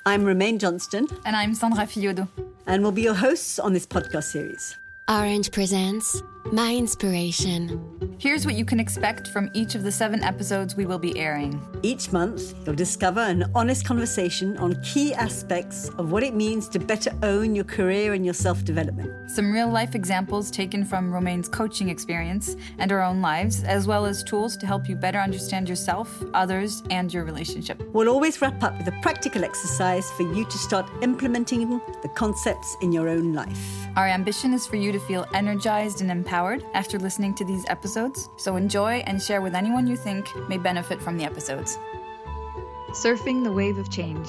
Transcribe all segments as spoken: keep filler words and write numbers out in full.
I'm Romaine Johnston. And I'm Sandra Fiodo. And we'll be your hosts on this podcast series. Orange presents My Inspiration. Here's what you can expect from each of the seven episodes we will be airing. Each month, you'll discover an honest conversation on key aspects of what it means to better own your career and your self-development. Some real-life examples taken from Romaine's coaching experience and our own lives, as well as tools to help you better understand yourself, others, and your relationship. We'll always wrap up with a practical exercise for you to start implementing the concepts in your own life. Our ambition is for you to feel energized and empowered after listening to these episodes. So enjoy and share with anyone you think may benefit from the episodes. Surfing the wave of change.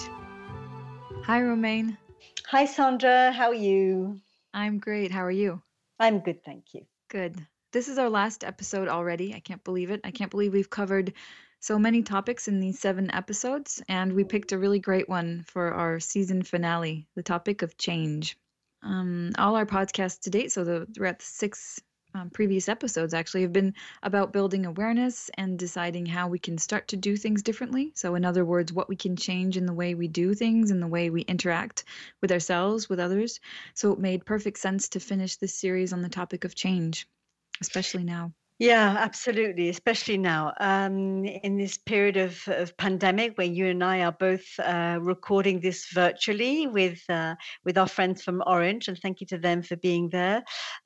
Hi, Romaine. Hi, Sandra. How are you? I'm great. How are you? I'm good, thank you. Good. This is our last episode already. I can't believe it. I can't believe we've covered so many topics in these seven episodes, and we picked a really great one for our season finale, the topic of change. Um, all our podcasts to date, so the, we're at the six Um, previous episodes actually have been about building awareness and deciding how we can start to do things differently. So in other words, what we can change in the way we do things and the way we interact with ourselves, with others. So it made perfect sense to finish this series on the topic of change, especially now. Yeah, absolutely, especially now um, in this period of, of pandemic where you and I are both uh, recording this virtually with uh, with our friends from Orange, and thank you to them for being there.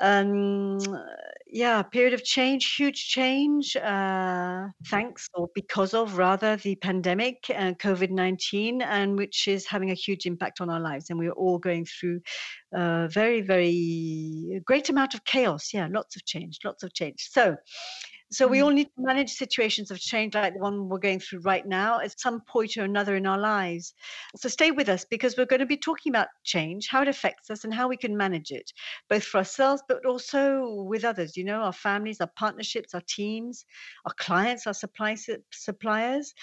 Um, yeah, period of change, huge change, uh, thanks or because of rather the pandemic, uh, COVID nineteen, and which is having a huge impact on our lives. And we're all going through a very, very great amount of chaos. Yeah, lots of change, lots of change. So So we all need to manage situations of change like the one we're going through right now at some point or another in our lives. So stay with us because we're going to be talking about change, how it affects us and how we can manage it, both for ourselves, but also with others, you know, our families, our partnerships, our teams, our clients, our supply, suppliers.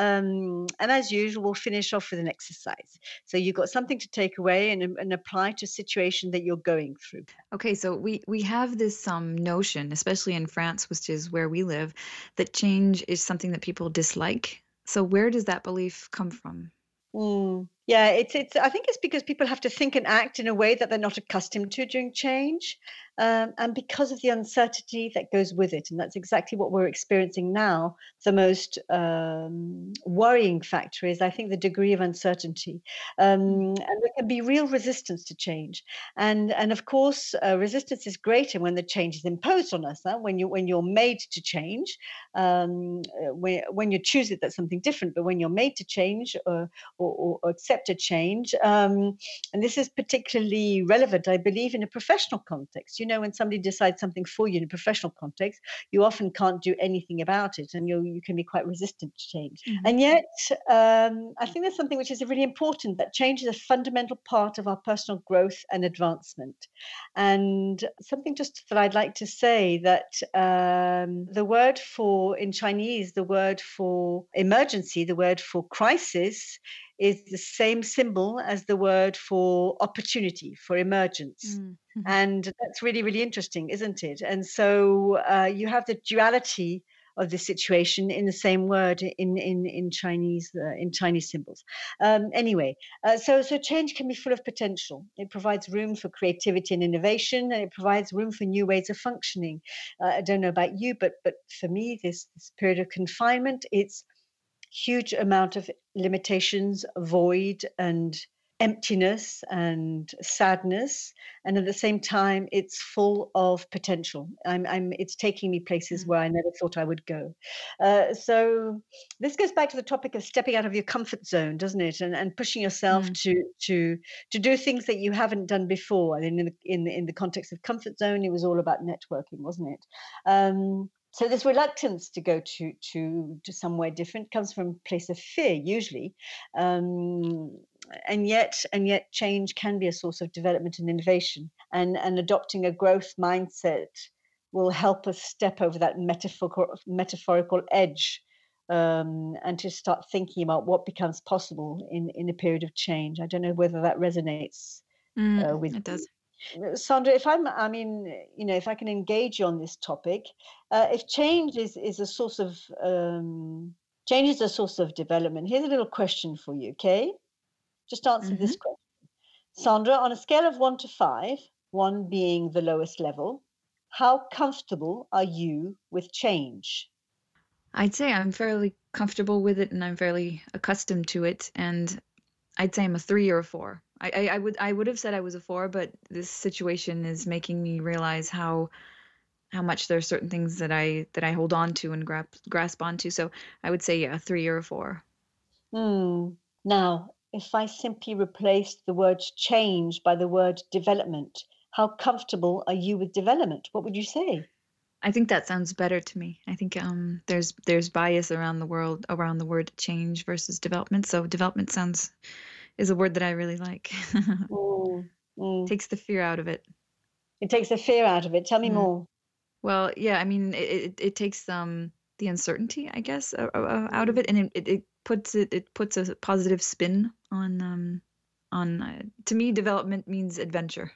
Um, and as usual, we'll finish off with an exercise. So you've got something to take away and, and apply to a situation that you're going through. Okay, so we, we have this um, notion, especially in France, which is where we live, that change is something that people dislike. So where does that belief come from? Mm. Yeah, it's it's. I think it's because people have to think and act in a way that they're not accustomed to during change, um, and because of the uncertainty that goes with it. And that's exactly what we're experiencing now. The most um, worrying factor is, I think, the degree of uncertainty, um, and there can be real resistance to change. And and of course, uh, resistance is greater when the change is imposed on us. Huh? When you when you're made to change, um, when when you choose it, that's something different. But when you're made to change or or, or accept a change. Um, and this is particularly relevant, I believe, in a professional context. You know, when somebody decides something for you in a professional context, you often can't do anything about it and you you can be quite resistant to change. Mm-hmm. And yet, um, I think there's something which is really important, that change is a fundamental part of our personal growth and advancement. And something just that I'd like to say, that um, the word for, in Chinese, the word for emergency, the word for crisis, is the same symbol as the word for opportunity, for emergence. Mm-hmm. And that's really, really interesting, isn't it? And so uh, you have the duality of the situation in the same word in in in Chinese uh, in Chinese symbols. Um, anyway, uh, so so change can be full of potential. It provides room for creativity and innovation, and it provides room for new ways of functioning. Uh, I don't know about you, but but for me, this this period of confinement, it's huge amount of limitations, void and emptiness and sadness, and at the same time it's full of potential. I'm, I'm it's taking me places mm-hmm. where I never thought I would go. Uh, so this goes back to the topic of stepping out of your comfort zone, doesn't it? And and pushing yourself mm-hmm. to to to do things that you haven't done before. I mean, in the in the, in the context of comfort zone, it was all about networking, wasn't it? Um, So this reluctance to go to to to somewhere different comes from a place of fear, usually, um, and yet and yet change can be a source of development and innovation. And and adopting a growth mindset will help us step over that metaphorical metaphorical edge, um, and to start thinking about what becomes possible in in a period of change. I don't know whether that resonates mm, uh, with it does. you. Sandra, if I'm, I mean, you know, if I can engage you on this topic, uh, if change is, is a source of, um, change is a source of development, here's a little question for you, okay? Just answer Mm-hmm. this question. Sandra, on a scale of one to five, one being the lowest level, how comfortable are you with change? I'd say I'm fairly comfortable with it and I'm fairly accustomed to it. And I'd say I'm a three or a four. I, I, I would I would have said I was a four, but this situation is making me realize how how much there are certain things that I that I hold on to and grasp grasp onto. So I would say yeah, a three or a four. Hmm. Now, if I simply replaced the word change by the word development, how comfortable are you with development? What would you say? I think that sounds better to me. I think um there's there's bias around the world around the word change versus development. So development sounds is a word that I really like. Mm, mm. Takes the fear out of it. It takes the fear out of it. Tell me Mm. more. Well, yeah, I mean, it, it, it takes um the uncertainty, I guess, uh, uh, out of it, and it, it, it puts it it puts a positive spin on um on uh, to me, development means adventure.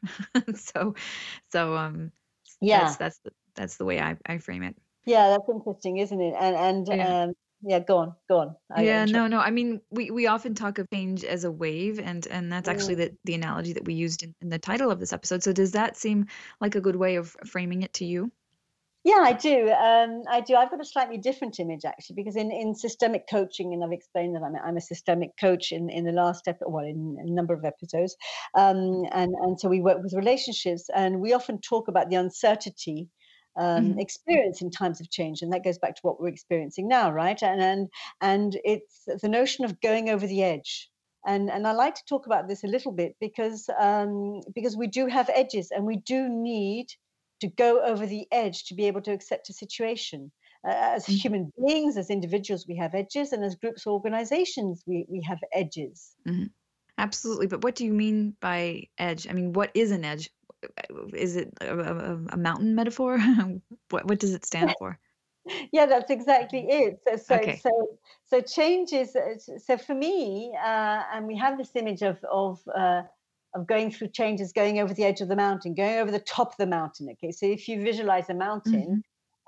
So so um that's Yeah, that's the, that's the way I, I frame it. yeah, that's interesting, isn't it? And and Yeah. um, yeah, go on, go on. I Yeah, interrupt. no, no. I mean, we, we often talk of change as a wave, and and that's actually Mm. the, the analogy that we used in, in the title of this episode. So does that seem like a good way of framing it to you? Yeah, I do. Um, I do. I've got a slightly different image actually, because in, in systemic coaching, and I've explained that I'm a, I'm a systemic coach in, in the last episode, well, in a number of episodes, um, and and so we work with relationships, and we often talk about the uncertainty um, Hmm. experience in times of change, and that goes back to what we're experiencing now, right? And and and it's the notion of going over the edge. And, and I like to talk about this a little bit because um, because we do have edges, and we do need to go over the edge to be able to accept a situation. Uh, as human beings, as individuals, we have edges, and as groups or organizations, we, we have edges. Hmm. Absolutely. But what do you mean by edge? I mean, what is an edge? Is it a, a, a mountain metaphor? What what does it stand for? Yeah, that's exactly it. So, so, Okay. so, so change is so for me, uh, and we have this image of of uh, of going through changes, going over the edge of the mountain, going over the top of the mountain. Okay, so if you visualize a mountain, Hmm.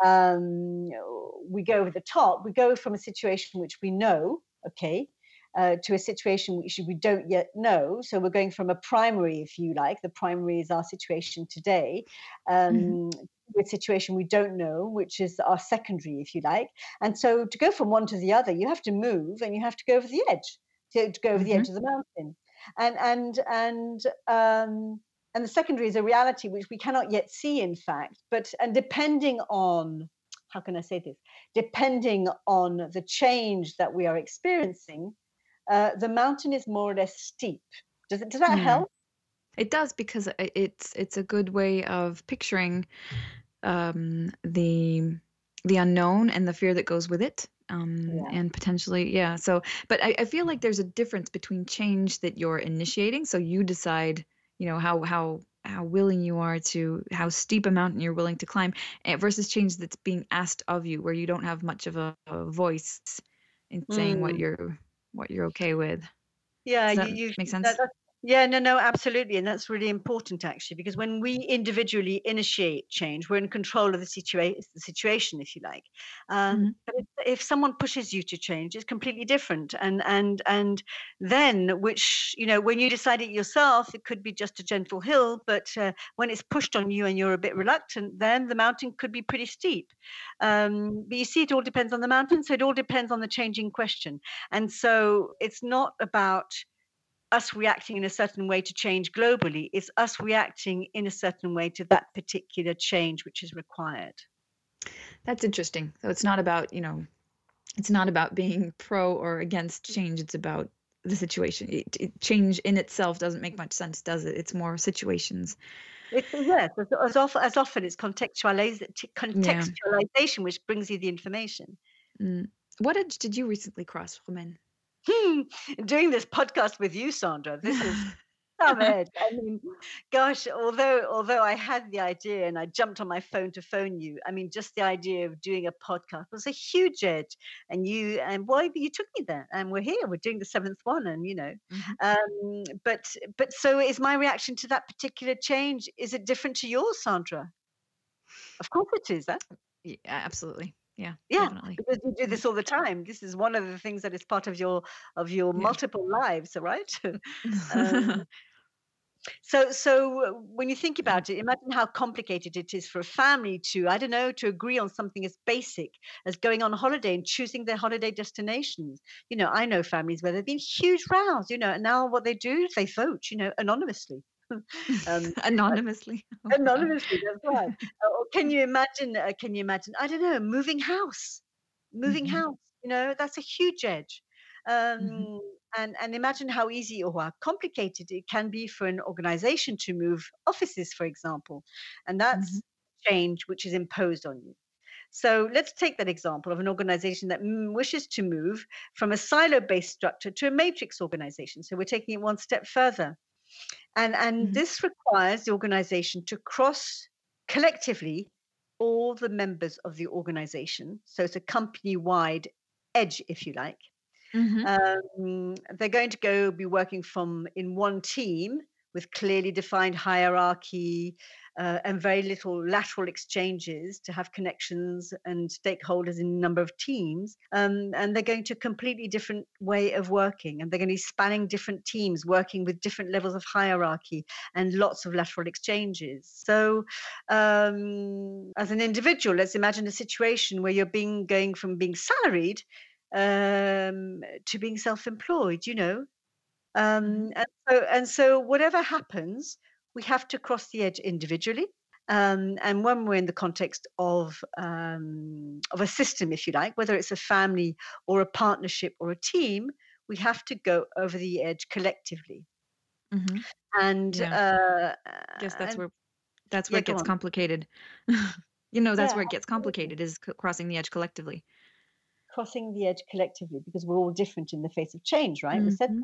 um, we go over the top. We go from a situation which we know, okay, uh, to a situation which we don't yet know. So we're going from a primary, if you like. The primary is our situation today. Hmm. Um, to a situation we don't know, which is our secondary, if you like. And so to go from one to the other, you have to move and you have to go over the edge, to, to go over the Hmm. edge of the mountain. And and and um, and the secondary is a reality which we cannot yet see, in fact. But and depending on, how can I say this? Depending on the change that we are experiencing, uh, the mountain is more or less steep. Does it? Does that Hmm. help? It does because i- it's it's a good way of picturing um, the the unknown and the fear that goes with it. Um, Yeah. and potentially, yeah. So, but I, I feel like there's a difference between change that you're initiating. So you decide, you know, how how how willing you are to how steep a mountain you're willing to climb, eh, versus change that's being asked of you, where you don't have much of a, a voice in saying what Mm. you're what you're okay with. Yeah, Does you, that you make that, sense? that's yeah, no, no, absolutely, and that's really important actually, because when we individually initiate change, we're in control of the situation, the situation, if you like. Um, Hmm. but if, if someone pushes you to change, it's completely different, and and and then, which you know, when you decide it yourself, it could be just a gentle hill, but uh, when it's pushed on you and you're a bit reluctant, then the mountain could be pretty steep. Um, but you see, it all depends on the mountain, so it all depends on the changing question, and so it's not about us reacting in a certain way to change globally. It's us reacting in a certain way to that particular change which is required. That's interesting. So it's not about, you know, it's not about being pro or against change. It's about the situation. It, it, change in itself doesn't make much sense, does it? It's more situations. It's yes, as, as often as often it's contextualiz- Yeah. contextualization which brings you the information. Mm. What edge did you recently cross, Romain? Hmm. Doing this podcast with you, Sandra, this is some edge. I mean, gosh, although although I had the idea and I jumped on my phone to phone you, I mean, just the idea of doing a podcast was a huge edge. And you and boy, you took me there, and we're here. We're doing the seventh one, and you know, Hmm. um, but but so is my reaction to that particular change? Is it different to yours, Sandra? Of course it is. Huh? Yeah, absolutely. Yeah, Yeah, definitely. because you do Mhm. this all the time. This is one of the things that is part of your of your Yeah. multiple lives, right? um, so, so uh, when you think about it, imagine how complicated it is for a family to, I don't know, to agree on something as basic as going on holiday and choosing their holiday destinations. You know, I know families where there've been huge rows. You know, and now what they do is they vote. You know, anonymously. um, Anonymously. Oh my God. Anonymously, that's right. Uh, or can you imagine, uh, can you imagine, I don't know, moving house, moving Mhm. house, you know, that's a huge edge. Mhm. Um, and, and imagine how easy or how complicated it can be for an organization to move offices, for example. And Mhm. that's change which is imposed on you. So let's take that example of an organization that mm, wishes to move from a silo based structure to a matrix organization. So we're taking it one step further. And, and Mhm. this requires the organization to cross collectively all the members of the organization. So it's a company wide edge, if you like. Mhm. Um, they're going to go be working from in one team with clearly defined hierarchy uh, and very little lateral exchanges to have connections and stakeholders in a number of teams. Um, and they're going to a completely different way of working. And they're going to be spanning different teams, working with different levels of hierarchy and lots of lateral exchanges. So, um, as an individual, let's imagine a situation where you're being going from being salaried um, to being self-employed, you know. Mhm. Um, and so and so whatever happens, we have to cross the edge individually. Um, and when we're in the context of um, of a system, if you like, whether it's a family or a partnership or a team, we have to go over the edge collectively. Mhm. And Yeah. uh, Guess that's and where that's where yeah, it go gets on. complicated. You know, that's Yeah, where it gets absolutely. complicated is c crossing the edge collectively. Crossing the edge collectively because we're all different in the face of change, right? We said Mhm.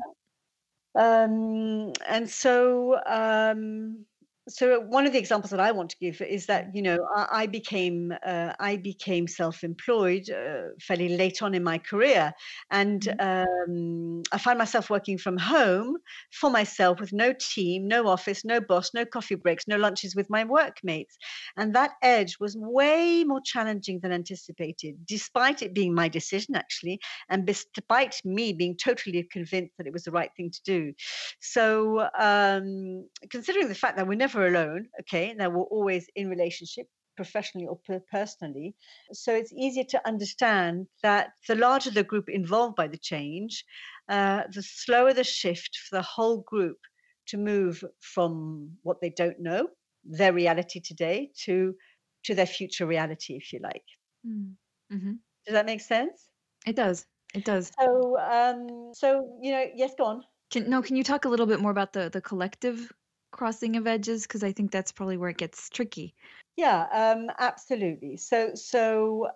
Um, and so, um, so one of the examples that I want to give is that you know I, I became uh, I became self-employed uh, fairly late on in my career, and Mhm. um, I found myself working from home for myself with no team, no office, no boss, no coffee breaks, no lunches with my workmates, and that edge was way more challenging than anticipated, despite it being my decision actually, and despite me being totally convinced that it was the right thing to do. So, um, considering the fact that we're never alone, okay, that we're always in relationship, professionally or per- personally, so it's easier to understand that the larger the group involved by the change, uh, the slower the shift for the whole group to move from what they don't know, their reality today, to to their future reality, if you like. Mm. Mhm. Does that make sense? It does. It does. So, um, so you know, yes, go on. Can no, can you talk a little bit more about the the collective crossing of edges? Because I think that's probably where it gets tricky. Yeah, um, absolutely. So, so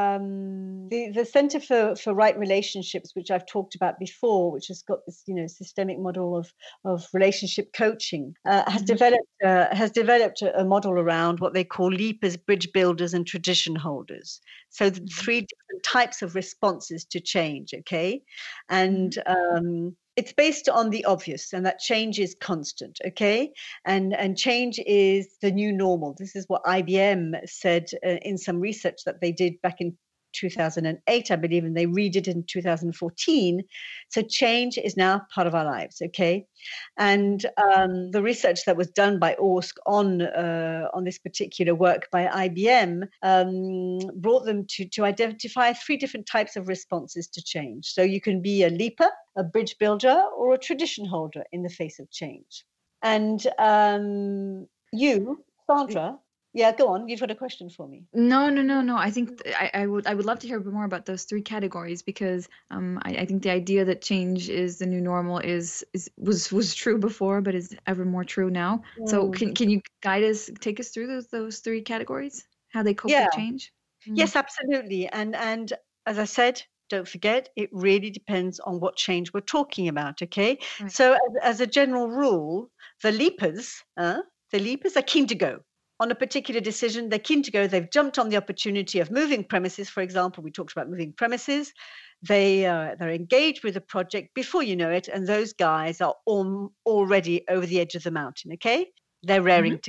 um, the the Center for for Right Relationships, which I've talked about before, which has got this, you know, systemic model of of relationship coaching, uh, has Mhm. developed uh, has developed a, a model around what they call leapers, bridge builders, and tradition holders. So, the Mhm. three different types of responses to change. Okay, Mhm. and um, it's based on the obvious, and that change is constant. Okay, and and change is the new normal. This is what I B M said uh, in some research that they did back in two thousand eight, I believe, and they read it in two thousand fourteen. So change is now part of our lives, okay? Mhm. And um, the research that was done by ORSC on uh, on this particular work by I B M um, brought them to to identify three different types of responses to change. So you can be a leaper, a bridge builder, or a tradition holder in the face of change. And um, you, Sandra, yeah, go on. You've got a question for me. No, no, no, no. I think th- I, I would I would love to hear a bit more about those three categories because um I, I think the idea that change is the new normal is is was was true before but is ever more true now. So Mm. can can you guide us, take us through those those three categories? How they cope Yeah, with change? Mm, yes, absolutely. And and as I said, don't forget, it really depends on what change we're talking about. Okay, right. so as, as a general rule, the leapers, uh, the leapers are keen to go on a particular decision. They're keen to go. They've jumped on the opportunity of moving premises. For example, we talked about moving premises. They uh, they're engaged with the project before you know it, and those guys are al- already over the edge of the mountain. Okay, they're Mm-hmm. raring to go.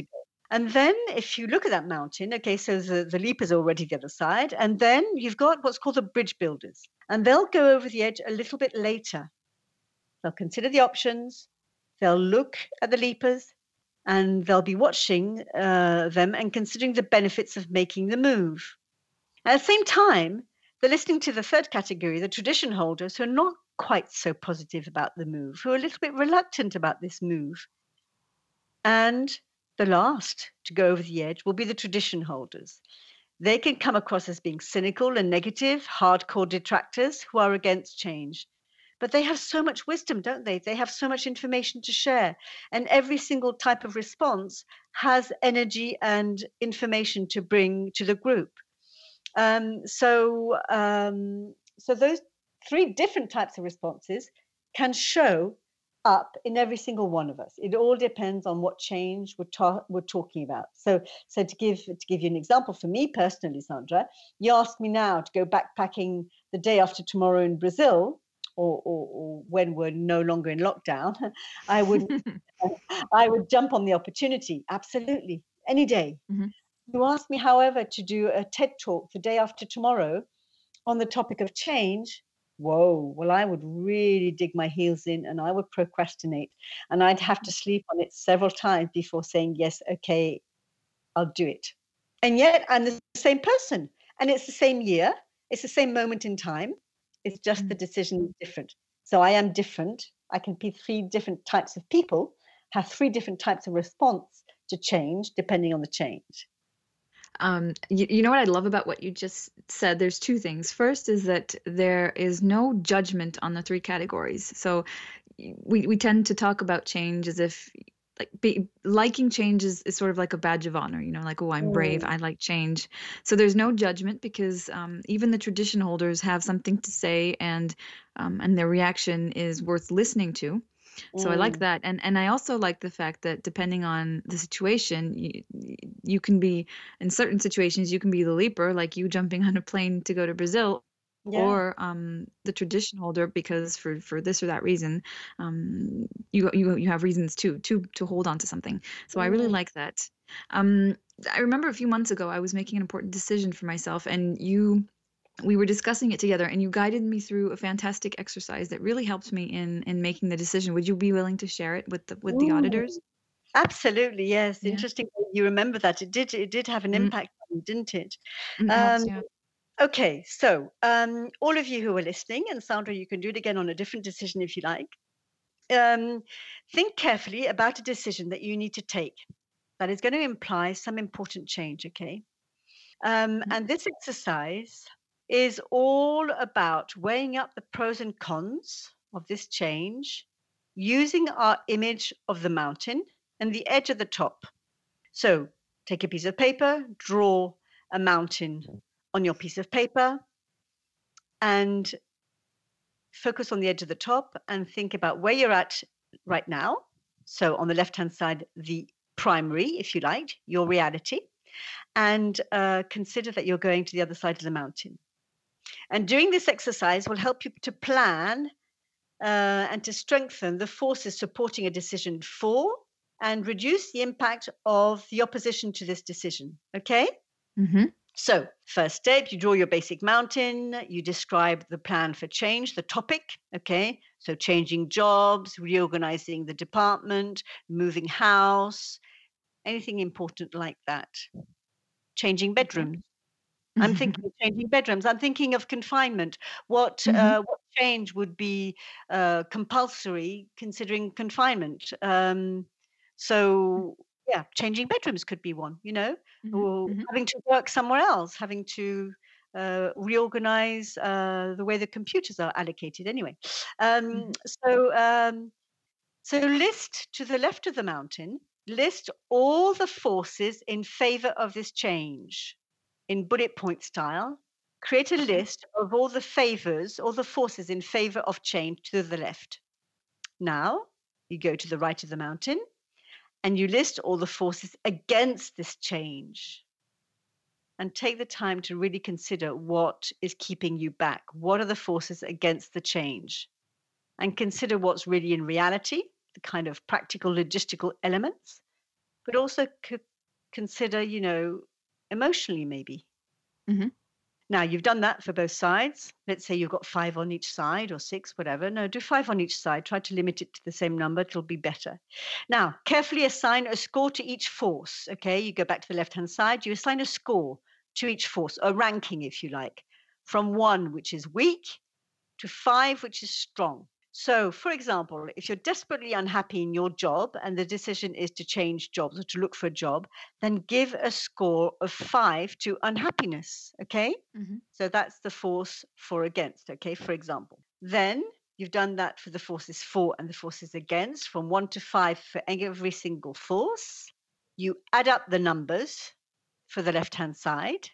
And then if you look at that mountain, okay, so the, the leapers are already the other side. And then you've got what's called the bridge builders. And they'll go over the edge a little bit later. They'll consider the options. They'll look at the leapers. And they'll be watching uh, them and considering the benefits of making the move. At the same time, they're listening to the third category, the tradition holders, who are not quite so positive about the move, who are a little bit reluctant about this move. And the last to go over the edge will be the tradition holders. They can come across as being cynical and negative, hardcore detractors who are against change. But they have so much wisdom, don't they? They have so much information to share. And every single type of response has energy and information to bring to the group. Um, so, um, so those three different types of responses can show up in every single one of us. It all depends on what change we're, ta- we're talking about. So, so to give to give you an example, for me personally, Sandra, you asked me now to go backpacking the day after tomorrow in Brazil, or, or, or when we're no longer in lockdown. I would I would jump on the opportunity, absolutely, any day. Mm-hmm. You asked me, however, to do a TED talk the day after tomorrow on the topic of change. Whoa, well, I would really dig my heels in and I would procrastinate and I'd have to sleep on it several times before saying, yes, okay, I'll do it. And yet I'm the same person and it's the same year. It's the same moment in time. It's just mm-hmm. the decision is different. So I am different. I can be three different types of people, have three different types of response to change depending on the change. Um, you, you know what I love about what you just said? There's two things. First is that there is no judgment on the three categories. So we, we tend to talk about change as if like be, liking change is, is sort of like a badge of honor, you know, like, oh, I'm brave, I like change. So there's no judgment because um, even the tradition holders have something to say and um, and their reaction is worth listening to. So mm. I like that. And and I also like the fact that depending on the situation, you, you can be, in certain situations, you can be the leaper, like you jumping on a plane to go to Brazil, yeah. or um, the tradition holder, because for, for this or that reason, um, you you you have reasons too, to, to hold on to something. So mm. I really like that. Um, I remember a few months ago, I was making an important decision for myself, and you... we were discussing it together and you guided me through a fantastic exercise that really helped me in, in making the decision. Would you be willing to share it with the, with the auditors? Absolutely. Yes. Yeah. Interesting. You remember that it did, it did have an impact mm. on you, didn't it? Mm, um, yeah. Okay. So um, all of you who are listening, and Sandra, you can do it again on a different decision if you like. Um, think carefully about a decision that you need to take that is going to imply some important change. Okay. Um, mm. And this exercise is all about weighing up the pros and cons of this change using our image of the mountain and the edge at the top. So take a piece of paper, draw a mountain on your piece of paper and focus on the edge of the top and think about where you're at right now. So on the left-hand side, the primary, if you like, your reality, and uh, consider that you're going to the other side of the mountain. And doing this exercise will help you to plan uh, and to strengthen the forces supporting a decision for and reduce the impact of the opposition to this decision. Okay? Mm-hmm. So first step, you draw your basic mountain, you describe the plan for change, the topic, okay? So changing jobs, reorganizing the department, moving house, anything important like that. Changing bedrooms. I'm thinking of changing bedrooms. I'm thinking of confinement. What mm-hmm. uh, what change would be uh, compulsory considering confinement? Um, so yeah, changing bedrooms could be one. You know, mm-hmm. or mm-hmm. having to work somewhere else, having to uh, reorganize uh, the way the computers are allocated. Anyway, um, mm-hmm. so um, so list to the left of the mountain. List all the forces in favor of this change. In bullet point style, create a list of all the favors, all the forces in favor of change to the left. Now, you go to the right of the mountain and you list all the forces against this change. And take the time to really consider what is keeping you back. What are the forces against the change? And consider what's really in reality, the kind of practical logistical elements, but also co- consider, you know, emotionally maybe. Mm-hmm. Now, you've done that for both sides. Let's say you've got five on each side or six, whatever. No, do five on each side. Try to limit it to the same number. It'll be better. Now, carefully assign a score to each force. Okay, you go back to the left-hand side. You assign a score to each force, a ranking, if you like, from one, which is weak, to five, which is strong. So, for example, if you're desperately unhappy in your job and the decision is to change jobs or to look for a job, then give a score of five to unhappiness, okay? Mm-hmm. So that's the force for against, okay, for example. Then you've done that for the forces for and the forces against, from one to five for every single force. You add up the numbers for the left-hand side,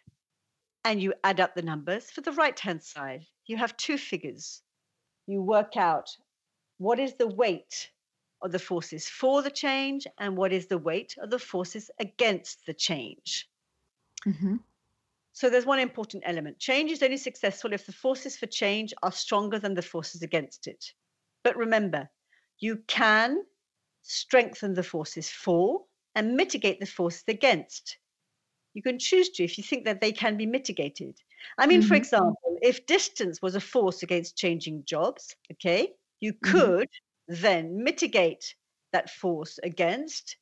and you add up the numbers for the right-hand side. You have two figures. You work out what is the weight of the forces for the change and what is the weight of the forces against the change. Mm-hmm. So there's one important element. Change is only successful if the forces for change are stronger than the forces against it. But remember, you can strengthen the forces for and mitigate the forces against. You can choose to if you think that they can be mitigated. I mean, mm-hmm. for example, if distance was a force against changing jobs, okay, you could mm-hmm. then mitigate that force against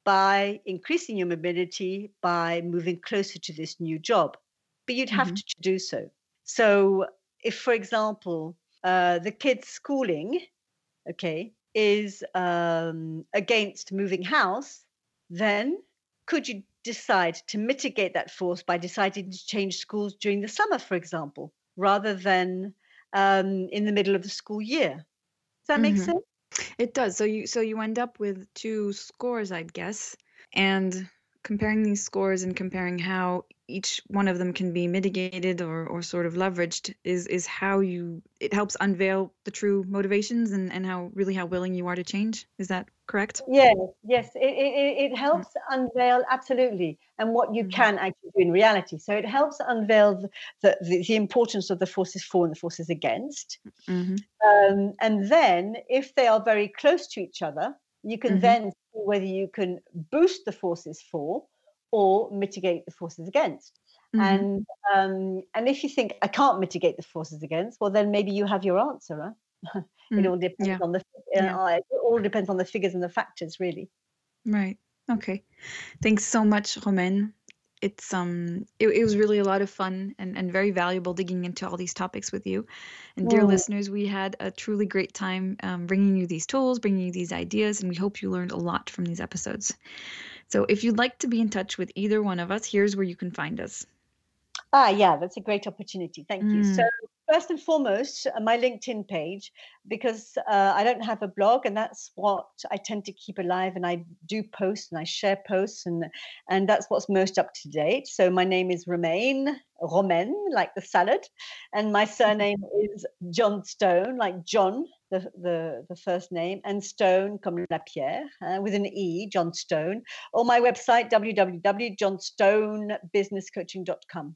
by increasing your mobility, by moving closer to this new job. But you'd have mm-hmm. to do so. So if, for example, uh, the kid's schooling, okay, is um, against moving house, then could you decide to mitigate that force by deciding to change schools during the summer, for example, rather than um, in the middle of the school year? Does that make mm-hmm. sense? It does. So you so you end up with two scores, I'd guess, and comparing these scores and comparing how each one of them can be mitigated or, or sort of leveraged is is how you it helps unveil the true motivations and, and how really how willing you are to change. Is that correct? Yes, yes. It it, it helps mm-hmm. unveil absolutely and what you mm-hmm. can actually do in reality. So it helps unveil the, the, the importance of the forces for and the forces against. Mm-hmm. Um, and then if they are very close to each other, you can mm-hmm. then see whether you can boost the forces for or mitigate the forces against. Mm-hmm. And um, and if you think, I can't mitigate the forces against, well, then maybe you have your answer. Huh? It mm, all depends yeah. on the uh, yeah. it all depends on the figures and the factors, really. Right. Okay. Thanks so much, Romaine. It's um it, it was really a lot of fun and, and very valuable digging into all these topics with you. And dear mm. listeners, we had a truly great time um, bringing you these tools, bringing you these ideas, and we hope you learned a lot from these episodes. So if you'd like to be in touch with either one of us, here's where you can find us. Ah, yeah, that's a great opportunity. Thank mm. you. So first and foremost, my LinkedIn page, because uh, I don't have a blog, and that's what I tend to keep alive. And I do post and I share posts, and and that's what's most up to date. So my name is Romaine, Romaine, like the salad, and my surname is Johnstone, like John, the the, the first name, and Stone, comme la pierre, uh, with an E, Johnstone, or my website, w w w dot johnstone business coaching dot com.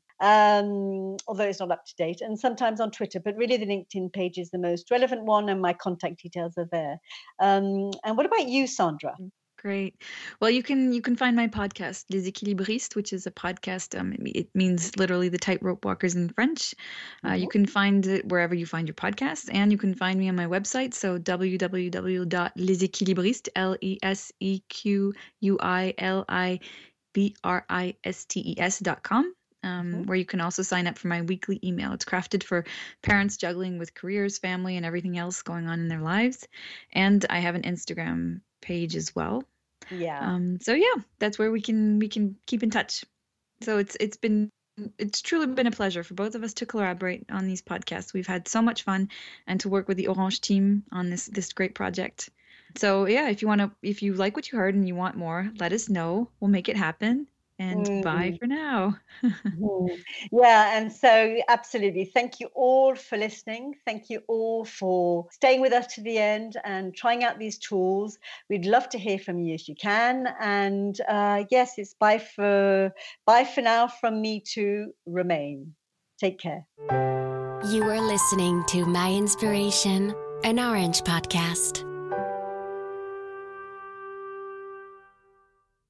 Um, although it's not up to date, and sometimes on Twitter, but really the LinkedIn page is the most relevant one, and my contact details are there. Um, and what about you, Sandra? Great. Well, you can you can find my podcast, Les Équilibristes, which is a podcast. Um, it, it means literally the tightrope walkers in French. Uh, mm-hmm. You can find it wherever you find your podcasts, and you can find me on my website. So w w w dot les équilibristes, L E S E Q U I L I B R I S T E S dot com. Um, mm-hmm. Where you can also sign up for my weekly email. It's crafted for parents juggling with careers, family, and everything else going on in their lives. And I have an Instagram page as well. Yeah. Um, so yeah, that's where we can we can keep in touch. So it's it's been it's truly been a pleasure for both of us to collaborate on these podcasts. We've had so much fun, and to work with the Orange team on this this great project. So yeah, if you want to, if you like what you heard and you want more, let us know. We'll make it happen. And mm. bye for now. mm. Yeah, and so absolutely. Thank you all for listening. Thank you all for staying with us to the end and trying out these tools. We'd love to hear from you if you can. And uh, yes, it's bye for bye for now from me to Romaine. Take care. You are listening to My Inspiration, an Orange podcast.